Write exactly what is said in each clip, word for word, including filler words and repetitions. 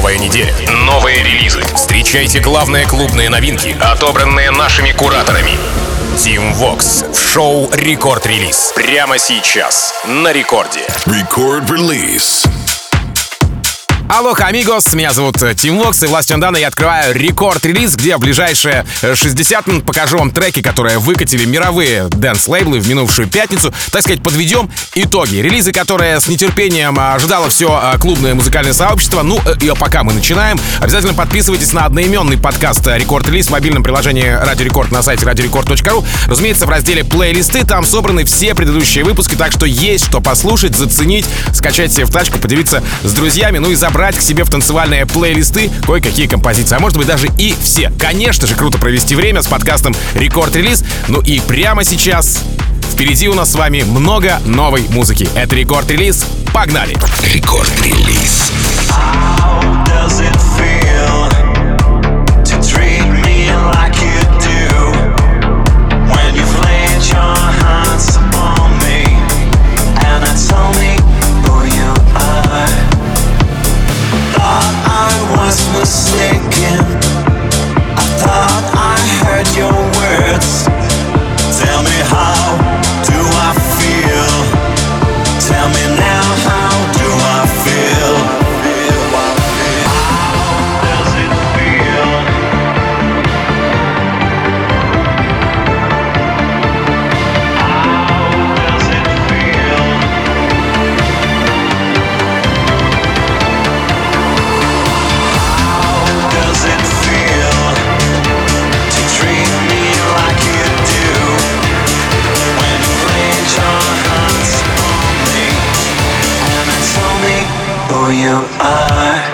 Новая неделя, новые релизы. Встречайте главные клубные новинки, отобранные нашими кураторами. Team Vox в шоу «Рекорд Релиз». Прямо сейчас на рекорде. Record Release. Алоха, амигос, меня зовут Team Vox, и властью Дана я открываю рекорд-релиз, где в ближайшие шестьдесят минут покажу вам треки, которые выкатили мировые дэнс-лейблы в минувшую пятницу. Так сказать, подведем итоги. Релизы, которые с нетерпением ожидало все клубное музыкальное сообщество. Ну, и пока мы начинаем, обязательно подписывайтесь на одноименный подкаст «Рекорд-релиз» в мобильном приложении Радио Рекорд на сайте радиорекорд точка ру. Разумеется, в разделе «Плейлисты» там собраны все предыдущие выпуски, так что есть что послушать, заценить, скачать себе в тачку, поделиться с друзьями, ну и забрать брать к себе в танцевальные плейлисты кое-какие композиции, а может быть даже и все. Конечно же, круто провести время с подкастом «Рекорд-релиз». Ну и прямо сейчас впереди у нас с вами много новой музыки. Это «Рекорд-релиз». Погнали! Рекорд-релиз. Mistaken, I thought I heard your words. Tell me, how do I feel? Tell me now, how do I feel? How does it feel? How does it feel? Does it feel to treat me like you do when you laid your hands on me and tell me who you are?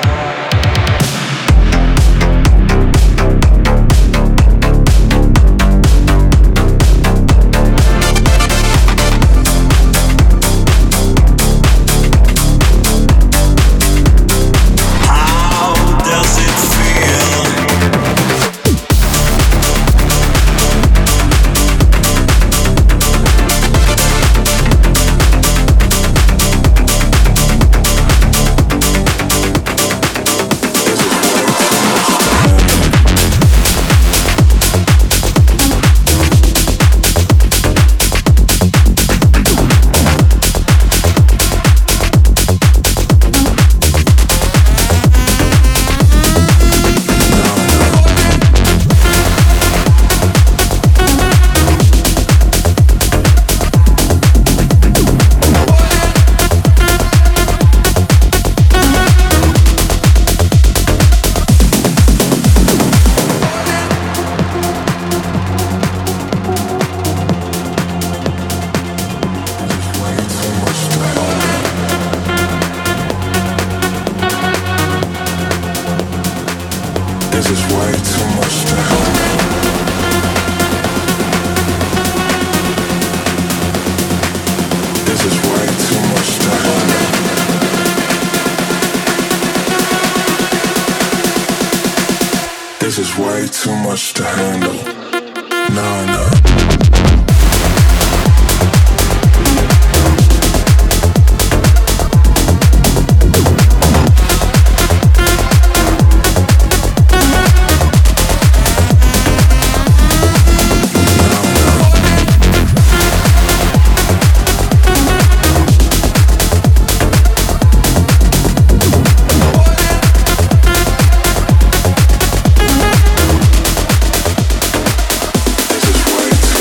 This is way too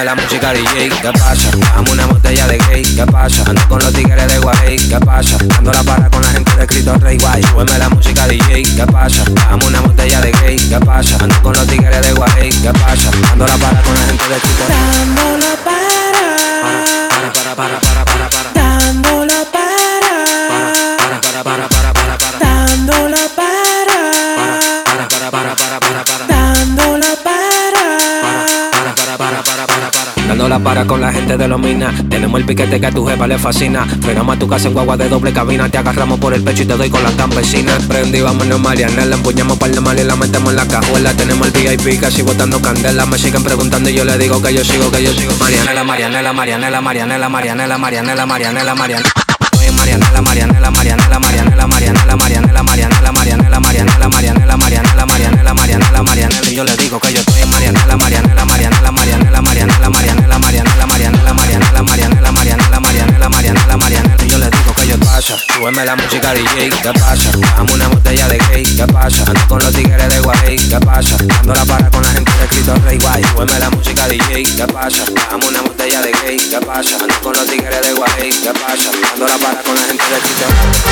súbeme la música D J, ¿qué pasa? Dame una botella de gay, ¿qué pasa? Ando con los tigres de Guay, ¿qué pasa? Dando la para con la gente de Cristo Rey Guay. Súbeme la música D J, ¿qué pasa? Dame una botella de gay, ¿qué pasa? Ando con los tigres de Guay, ¿qué pasa? Dando la para con la gente de Cristo Rey. Dando la para, para, para, para, para, para, para. dando la para, Para, para, para, para, para, para. dando la para, Para, para, para, para, para, para. dando la para. Para, para, para, para, para, para. Dando la para con la gente de los minas. Tenemos el piquete que a tu jefa le fascina. Frenamos a tu casa en guagua de doble cabina. Te agarramos por el pecho y te doy con la campesina. Prendí, vámonos Marianela. Empuñamos par de mal y la metemos en la cajuela. Tenemos el V I P casi botando candela. Me siguen preguntando y yo le digo que yo sigo, que yo sigo. Marianela, Marianela, Marianela, Marianela, Marianela, Marianela, Marianela, Marianela. Marianela, Marianela, Marianela, Marianela, Marianela, Marianela, Marianela, Marianela, Marianela, Marianela, Marianela, Marianela, Marianela, Marianela. Y yo le digo que yo estoy en Marianela, Marianela, Marianela, Marianela, Marianela, Marianela, Marianela, Marianela, Marianela, Marianela, Marianela, Marianela, Marianela, Marianela. Y yo le digo que yo pasa. Súbeme la música D J, ¿qué pasa? Dame una botella de gay, ¿qué pasa? Ando con los tigres de Guay, ¿qué pasa? Dando la para con la gente de Cristo Rey Guay. Súbeme la música D J, ¿qué pasa? Dame una botella de gay, ¿qué pasa? Ando con los tigres de Guay, ¿qué pasa? Dando la para con la gente de Cristo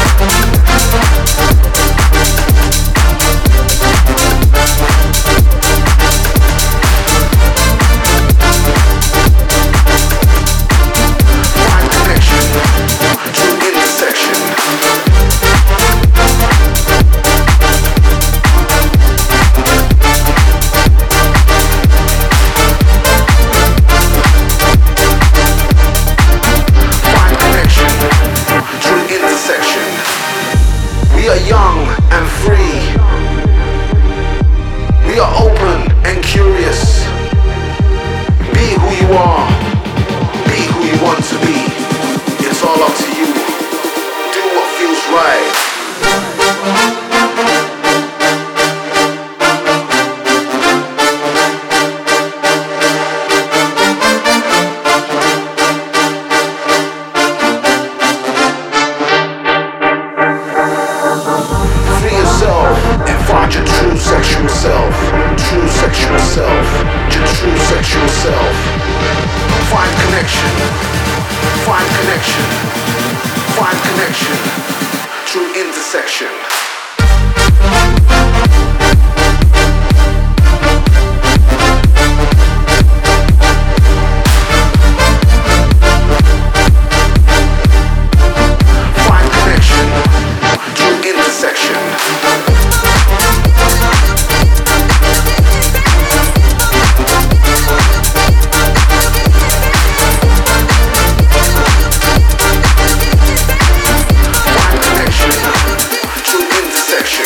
Find connection to intersection. Find connection to intersection. We are young and free. We are open and curious. Be who you are. Be who you want to be. It's all up to you. Do what feels right. Free yourself and find your true sexual self. True sexual self. Your true sexual self. Find connection. Find connection. Find connection. True intersection. Find connection. True intersection. Find connection. True intersection.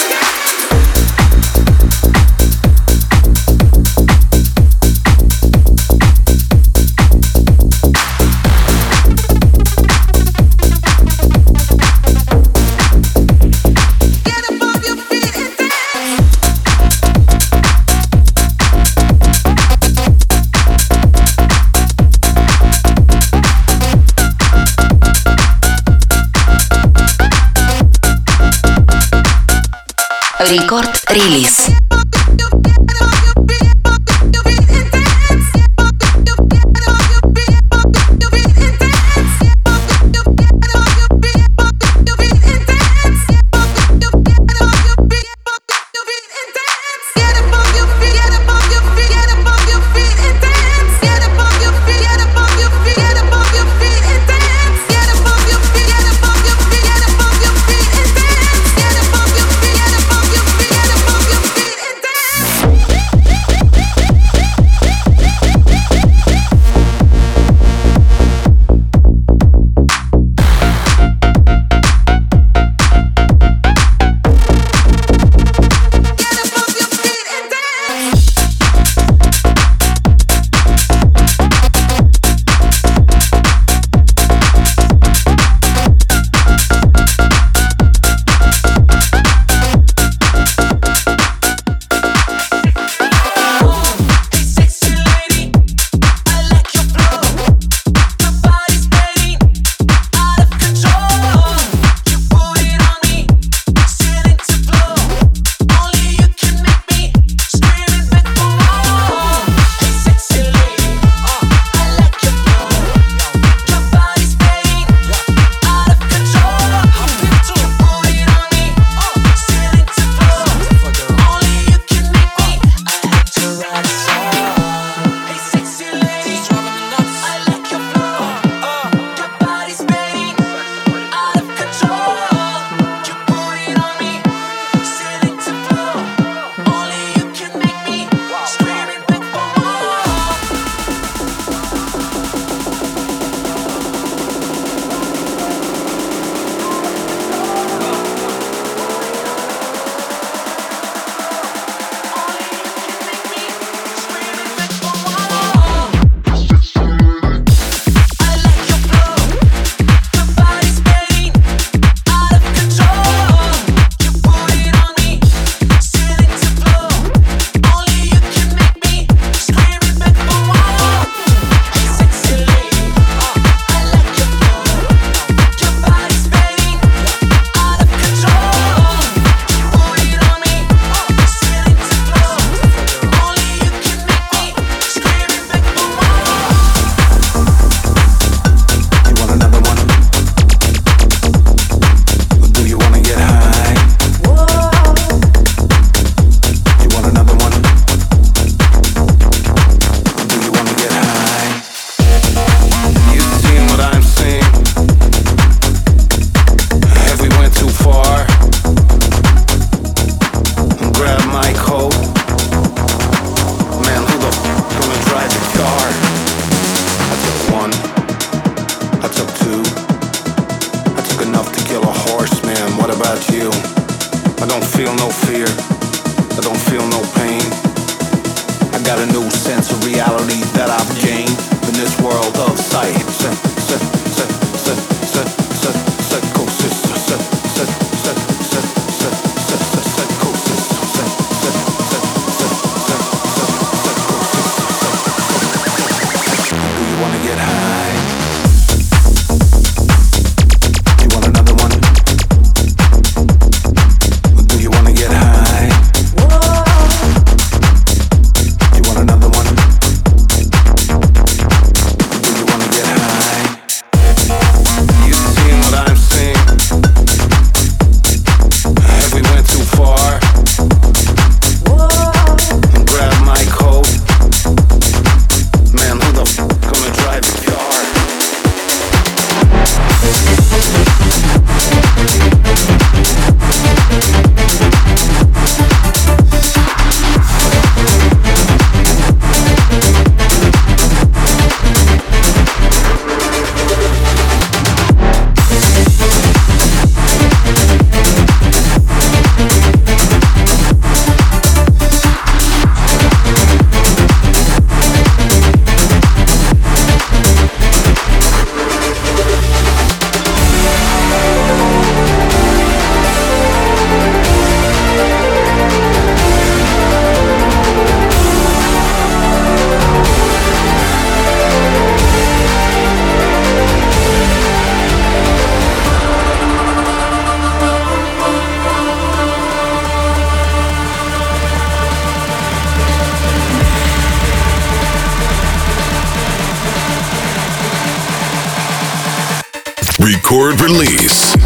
Рекорд релиз. don't feel no fear. I don't feel no pain. I got a new sense of reality that I've gained in this world of sight. Record release.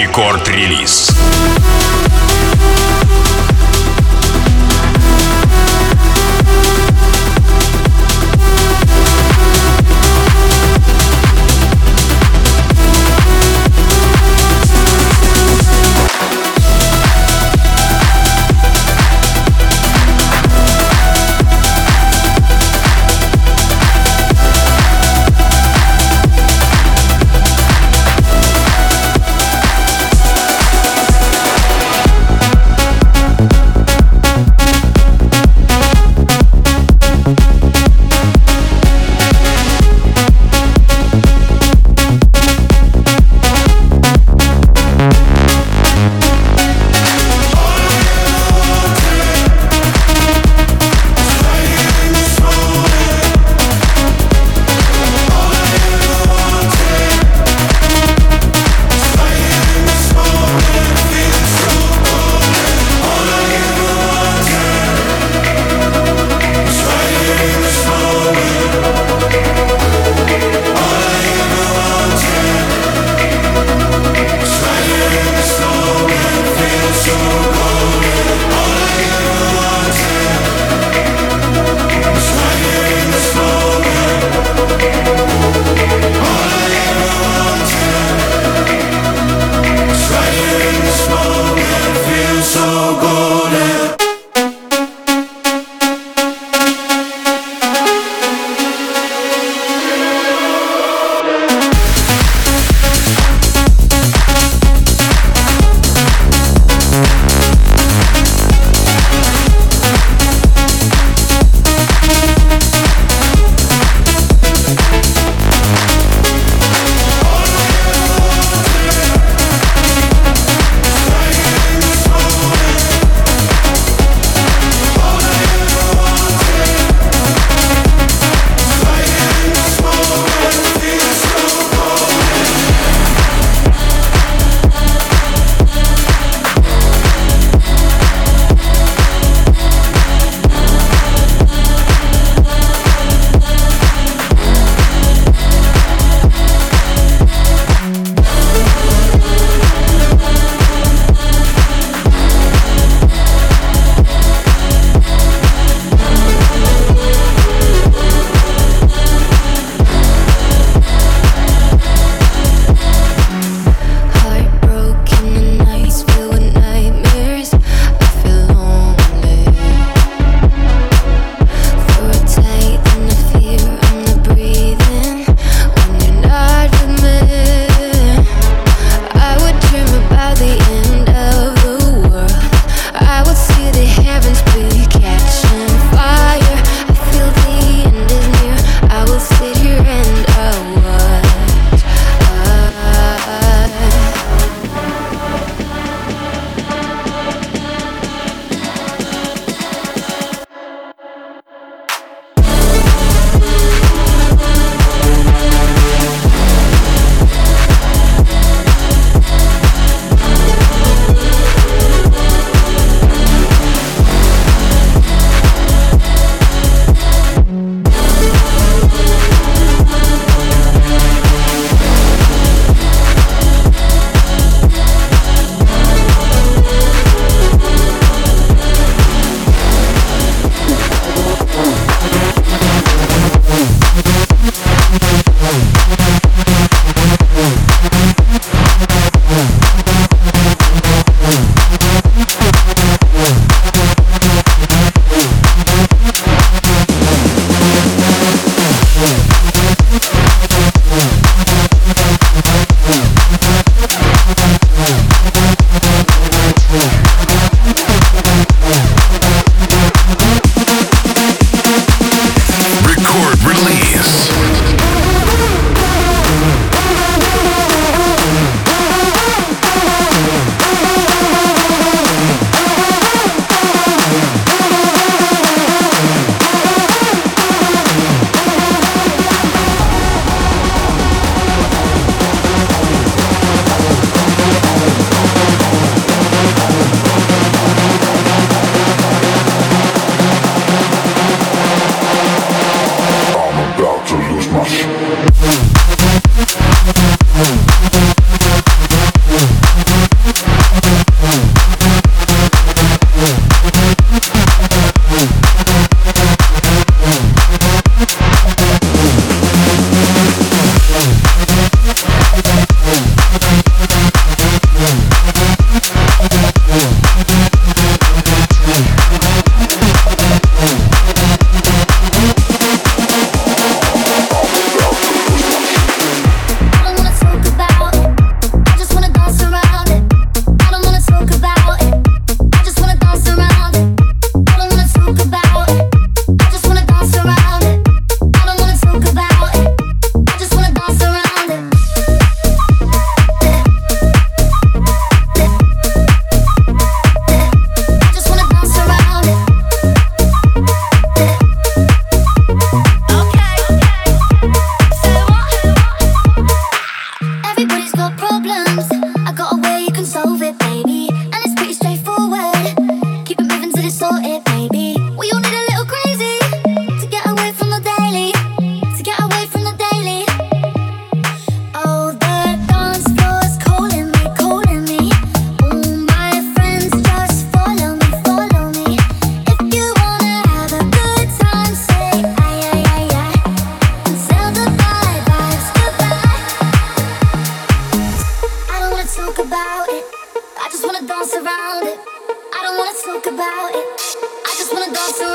Рекорд-релиз. We'll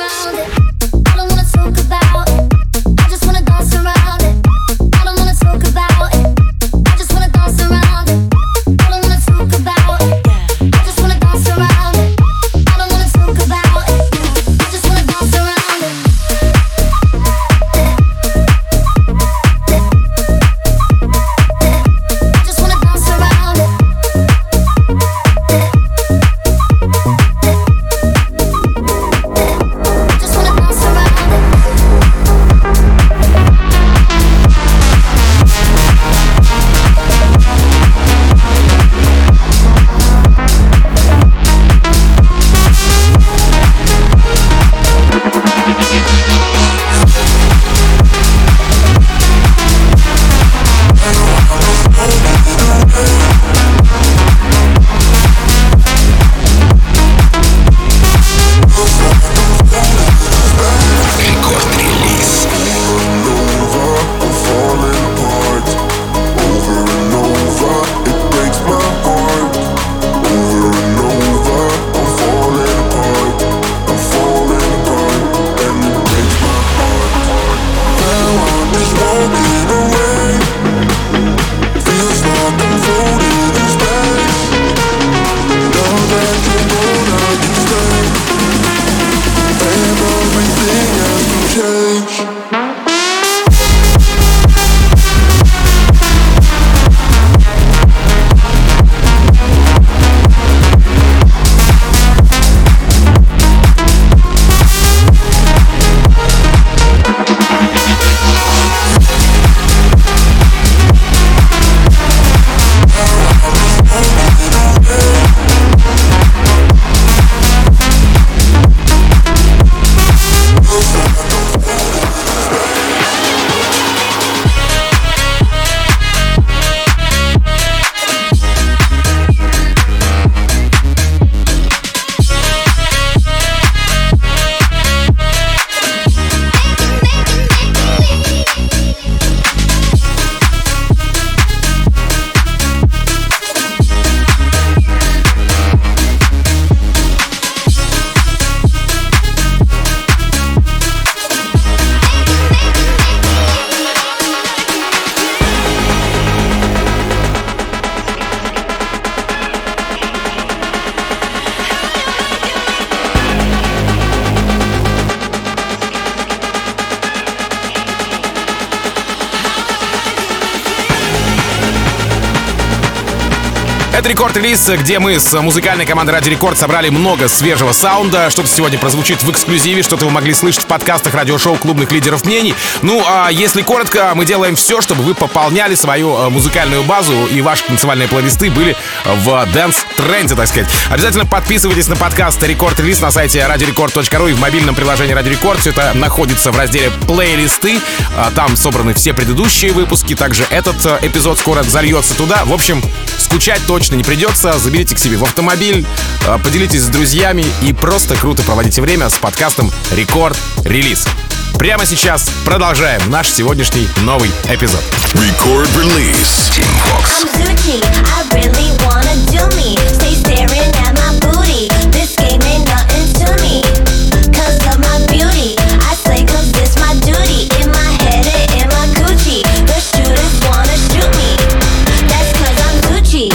Это рекорд-релиз, где мы с музыкальной командой Радио Рекорд собрали много свежего саунда. Что-то сегодня прозвучит в эксклюзиве, что-то вы могли слышать в подкастах радиошоу клубных лидеров мнений. Ну, а если коротко, мы делаем все, чтобы вы пополняли свою музыкальную базу и ваши танцевальные плейлисты были в дэнс-тренде, так сказать. Обязательно подписывайтесь на подкаст «Рекорд-релиз» на сайте радио рекорд точка ру и в мобильном приложении Радио Рекорд. Все это находится в разделе «Плейлисты». Там собраны все предыдущие выпуски. Также этот эпизод скоро зальется туда. В общем, скучать точно не придется. Заберите к себе в автомобиль, поделитесь с друзьями и просто круто проводите время с подкастом «Рекорд-релиз». Прямо сейчас продолжаем наш сегодняшний новый эпизод. Record Release. Team Vox. I'm Gucci, I really wanna do me. Stay staring at my booty. This game ain't nothing to me. Cause of my beauty. I say cause this my duty. In my head and in my Gucci. The shooters wanna shoot me. That's cause I'm Gucci.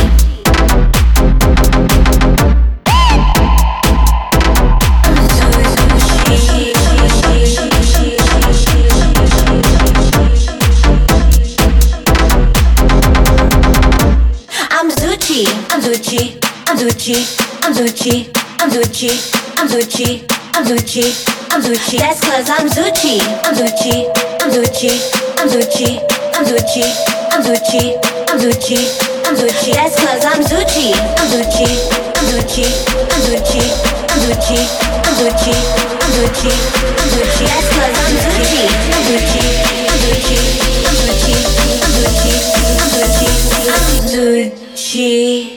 I'm Gucci, I'm Gucci, I'm Gucci, I'm Gucci, I'm Gucci, I'm Gucci, I'm Gucci, I'm Gucci. That's cause I'm Gucci, I'm Gucci, I'm Gucci, I'm Gucci, I'm Gucci, I'm Gucci, I'm Gucci, I'm Gucci. That's cause I'm Gucci, I'm Gucci, I'm Gucci, I'm Gucci, I'm Gucci, I'm Gucci, I'm Gucci, I'm Gucci. That's cause I'm Gucci, I'm Gucci, I'm Gucci, I'm Gucci, I'm Gucci, I'm Gucci, I'm Gucci.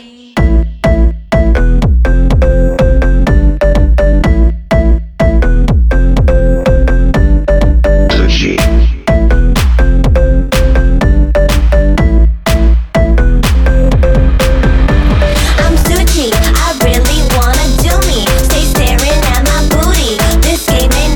Game ain't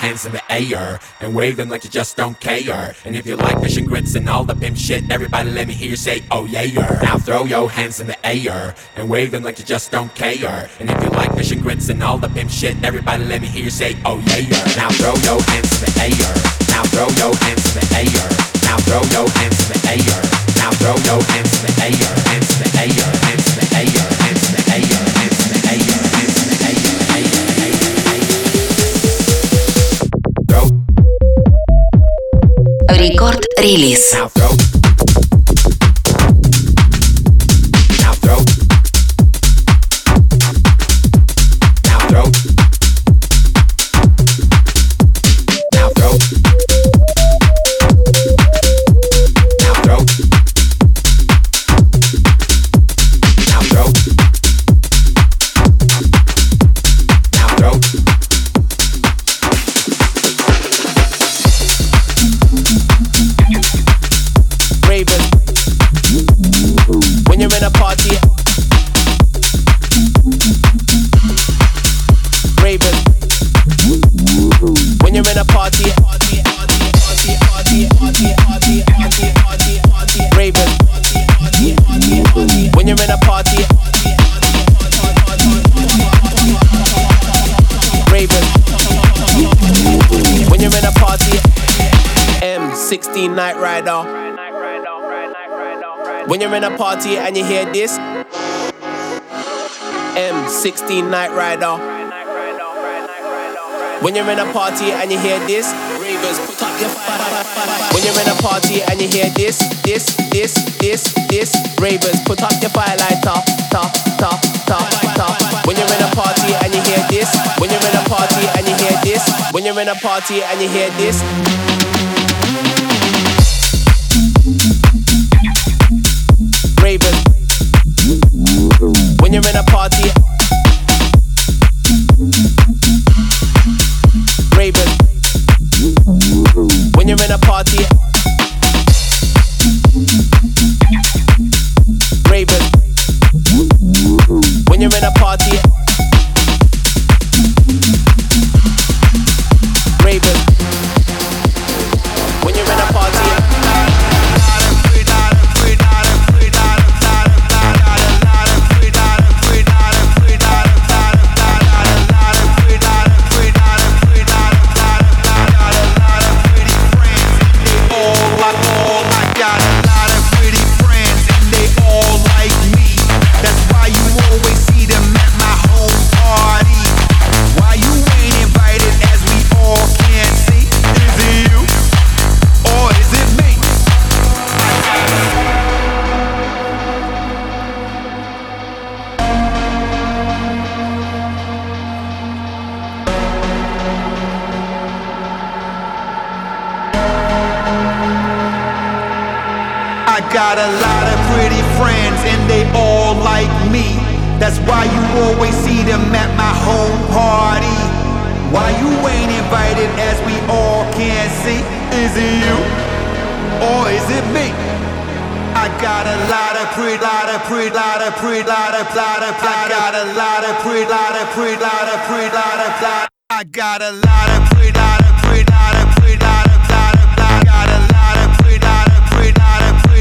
hands in the air and wave them like you just don't care. And if you like fish and grits and all the pimp shit, everybody let me hear you say, oh yeah. Now throw your hands in the air and wave them like you just don't care. And if you like fish and grits and all the pimp shit, everybody let me hear you say, oh yeah. Now throw your hands in the air. Now throw your hands in the air. Now throw your hands in the air. Now throw your hands in the air. Hands in the air. Hands in the air. Hands in the air. Hands in the air. Hands in the air. Throw. Record release. Now throw. Night rider. When you're in a party and you hear this, M sixteen Night Rider. When you're in a party and you hear this, ravers put up your fire. When you're in a party and you hear this, this, this, this, this, ravers put up your firelighter. Ta, ta, ta, ta. When you're in a party and you hear this, when you're in a party and you hear this, when you're in a party and you hear this. Ravers. When you're in a party. Ravers. When you're in a party. Ravers. When you're in a party. Ravers. When you're in a party. Got a lot of pretty friends and they all like me. That's why you always see them at my home party. Why you ain't invited as we all can see? Is it you or is it me? I got a lot of pretty, lot of pretty, lot of pretty, lot of, lot of, I got a lot of pretty, lot of pretty, lot of pretty, lot of, lot. I got a lot of pretty, lot of pretty, lot of pretty, lot of, lot of, I got a lot of pretty, lot of pretty, lot of pretty.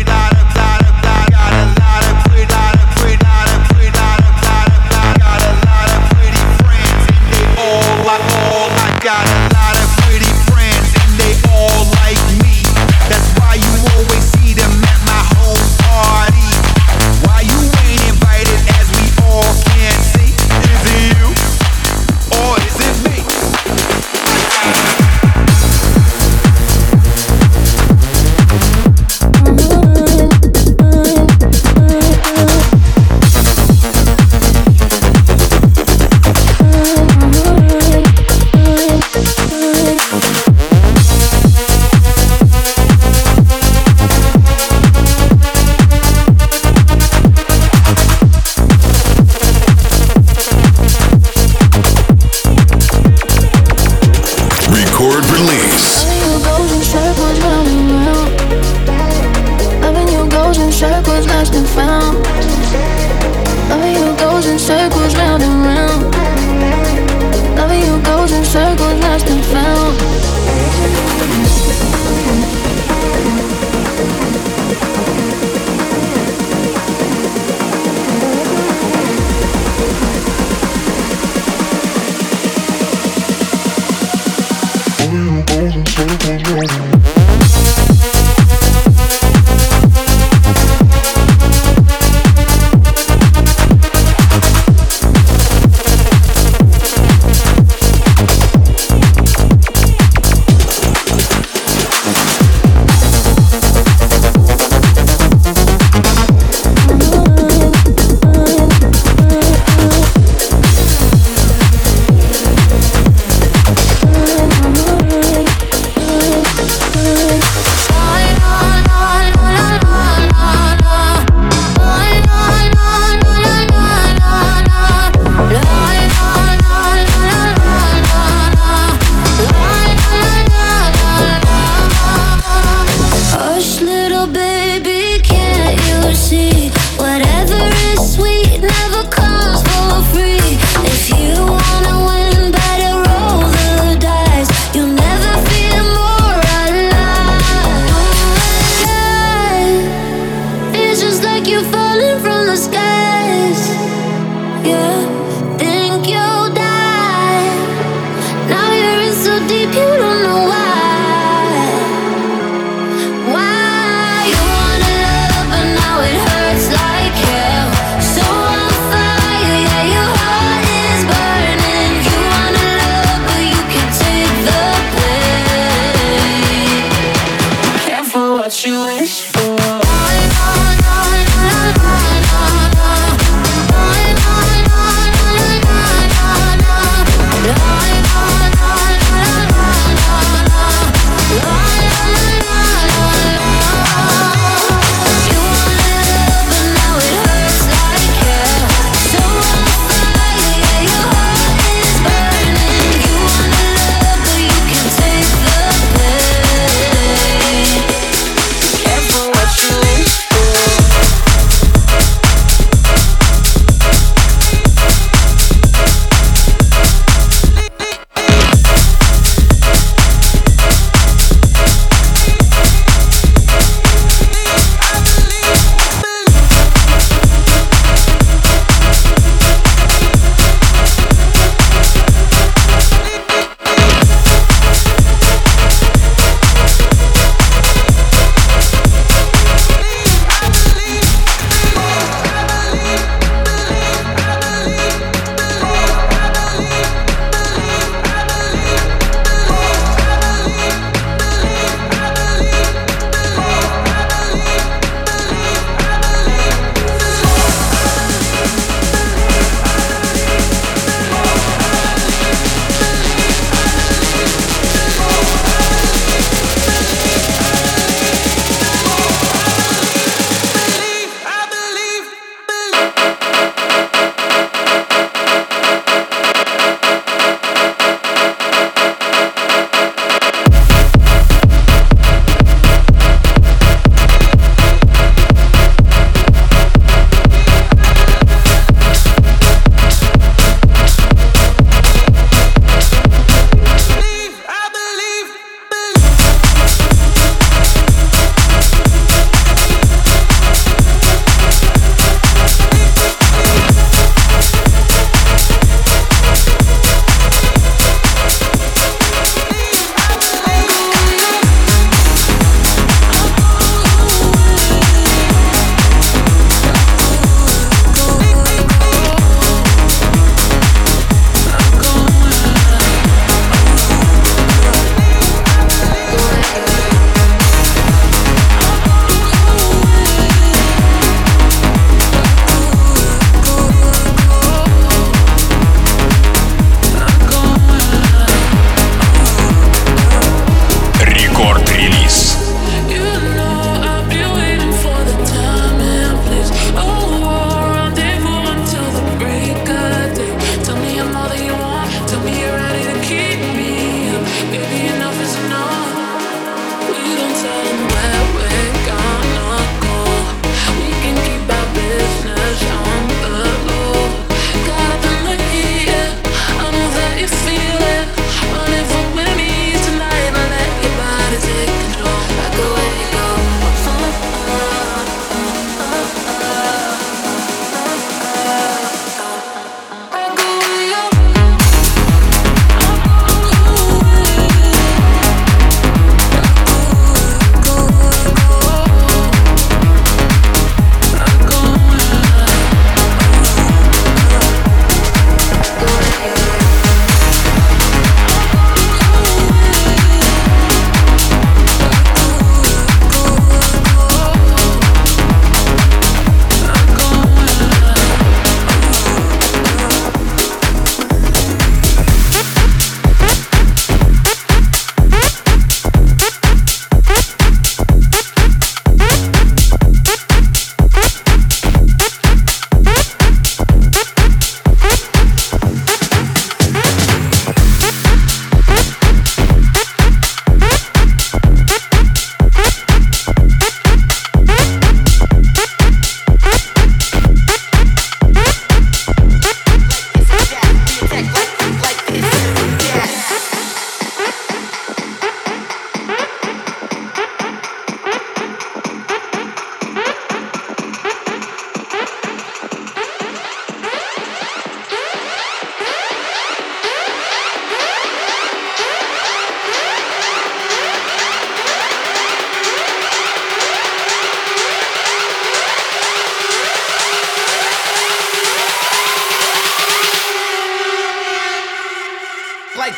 Got a lot of pretty friends and they all like me. That's why you always see them at my home party. Why you ain't invited as we all can see? Is it you or is it me? circles round and round. Loving you goes in circles, lost and found. What you wish for?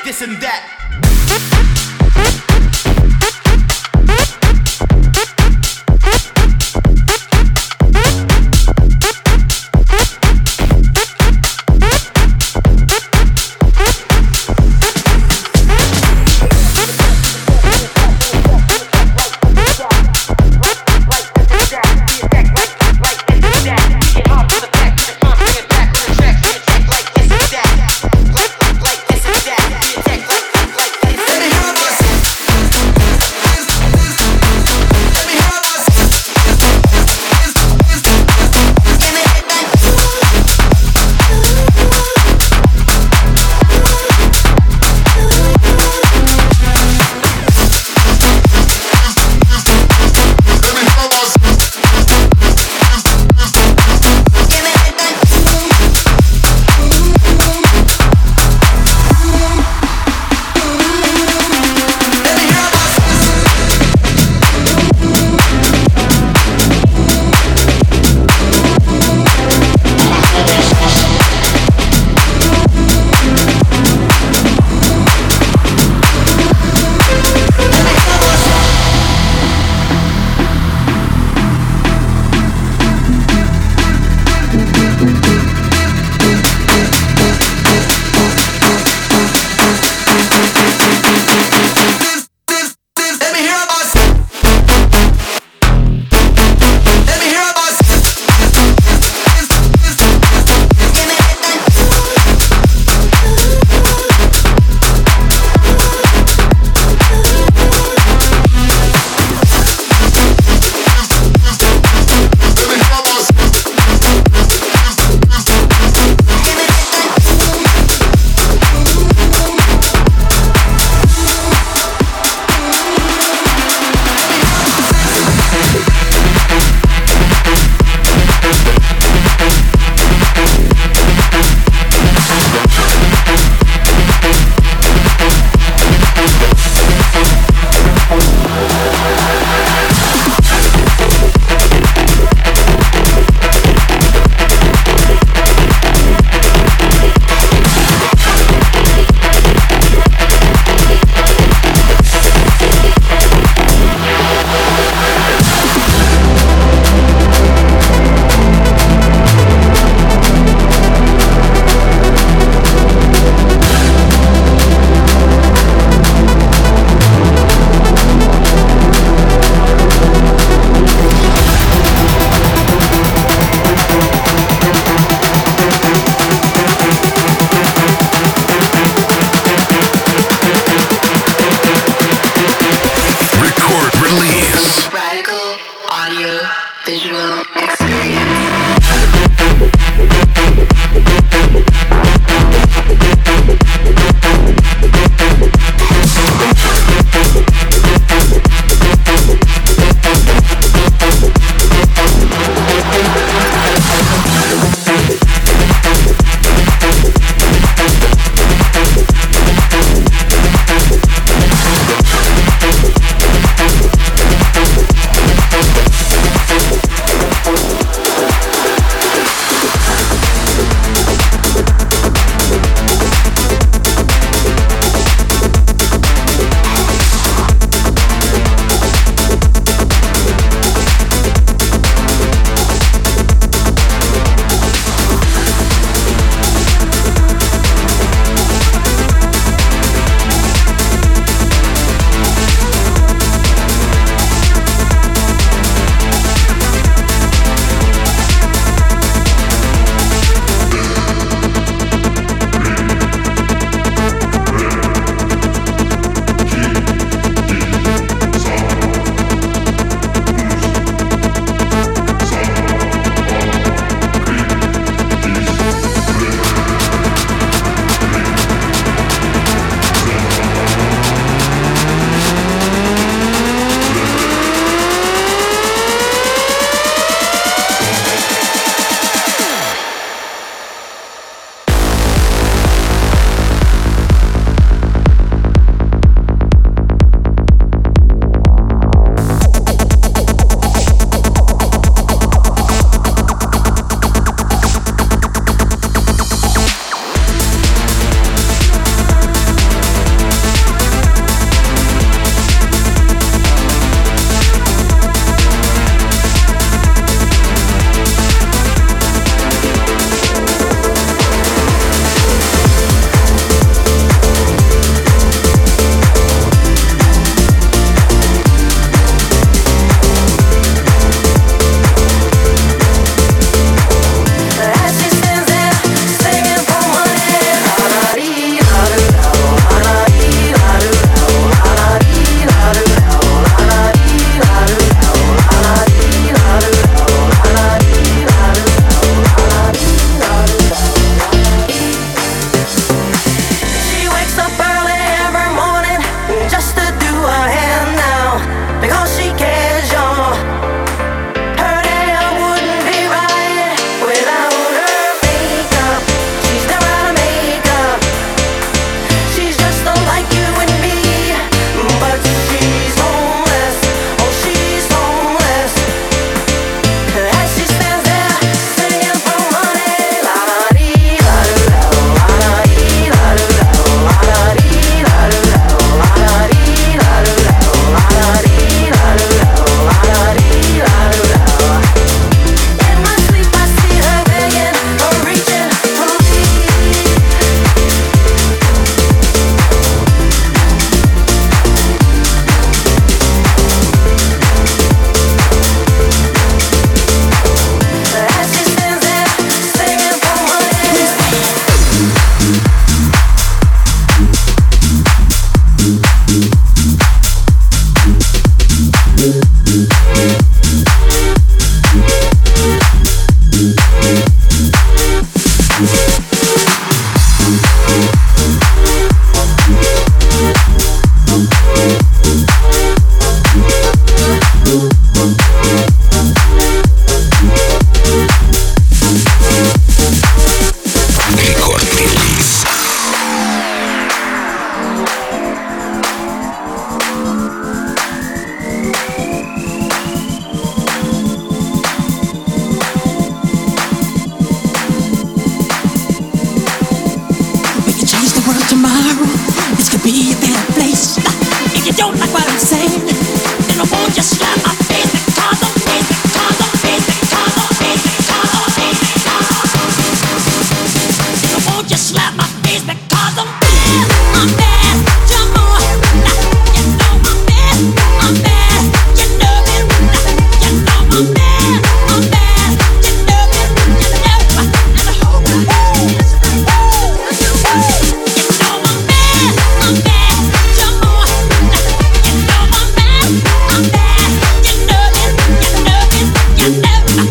this and that.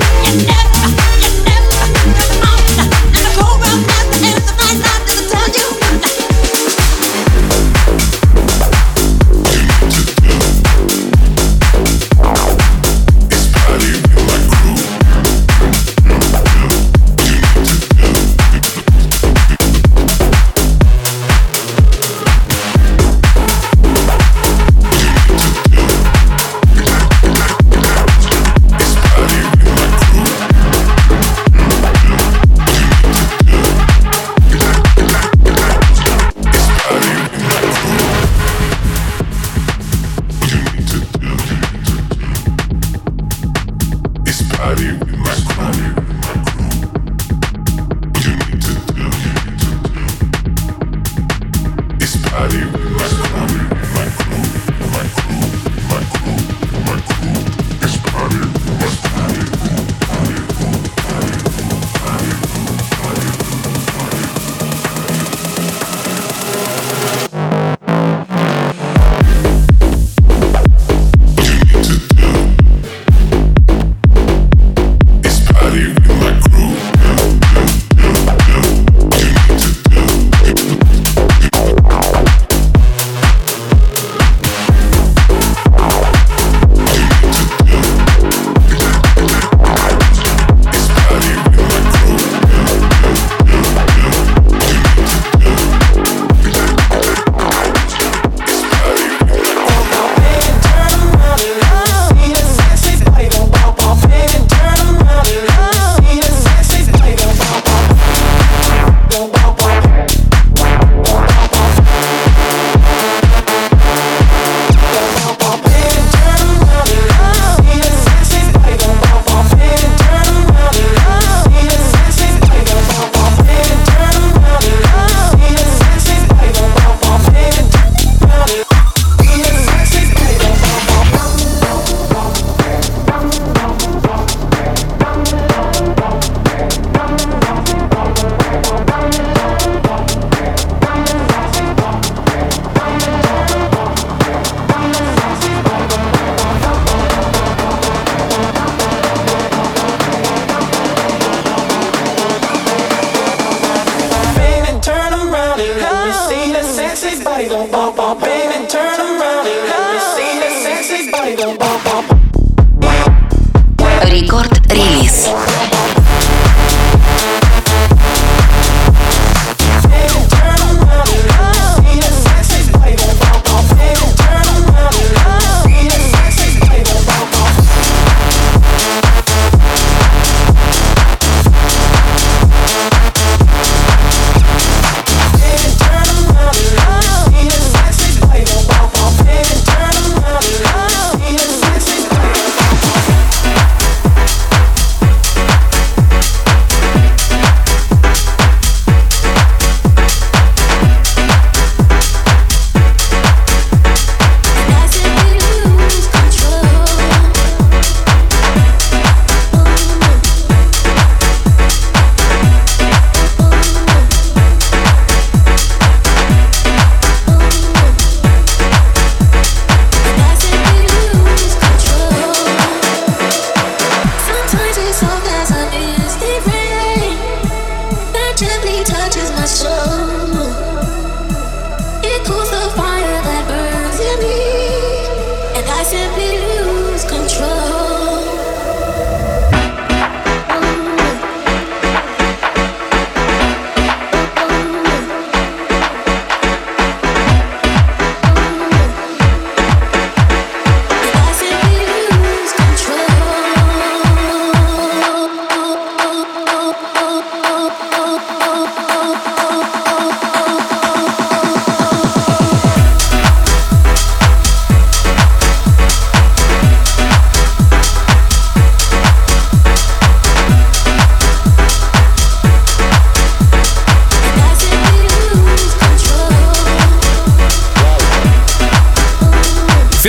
Рекорд-релиз.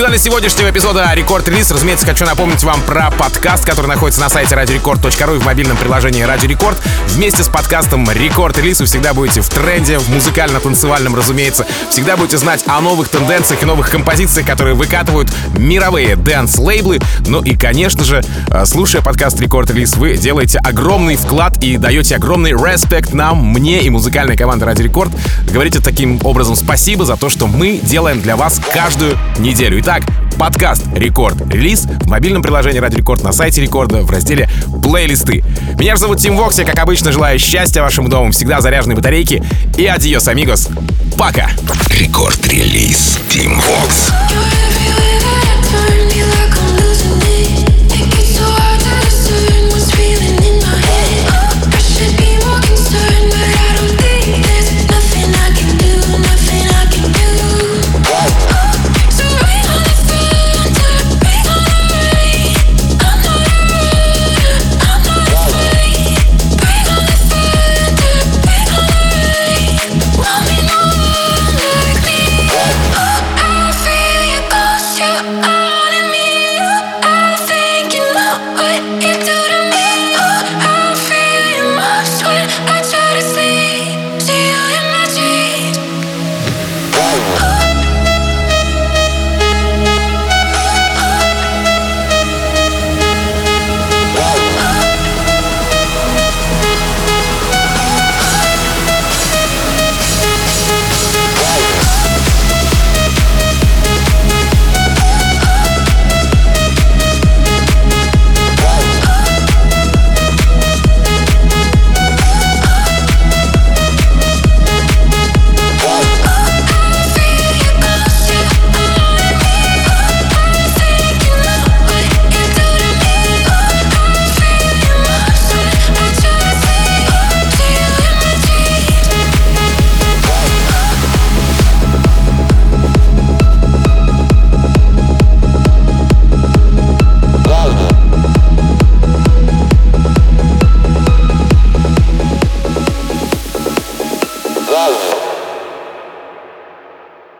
финале сегодняшнего эпизода Рекорд Релиз, разумеется, хочу напомнить вам про подкаст, который находится на сайте радио рекорд точка ру и в мобильном приложении Радио Рекорд. Вместе с подкастом Рекорд Релиз вы всегда будете в тренде, в музыкально-танцевальном, разумеется. Всегда будете знать о новых тенденциях и новых композициях, которые выкатывают мировые дэнс-лейблы. Ну и, конечно же, слушая подкаст Рекорд Релиз, вы делаете огромный вклад и даете огромный респект нам, мне и музыкальной команде Радио Рекорд. Говорите таким образом спасибо за то, что мы делаем для вас каждую неделю. Итак, подкаст Рекорд Релиз в мобильном приложении Радио Рекорд, на сайте Рекорда, в разделе плейлисты. Меня же зовут Тим Вокс, я, как обычно, желаю счастья вашему дому, всегда заряженной батарейки и адьос, амигос. Пока! Рекорд Релиз. Тим Вокс.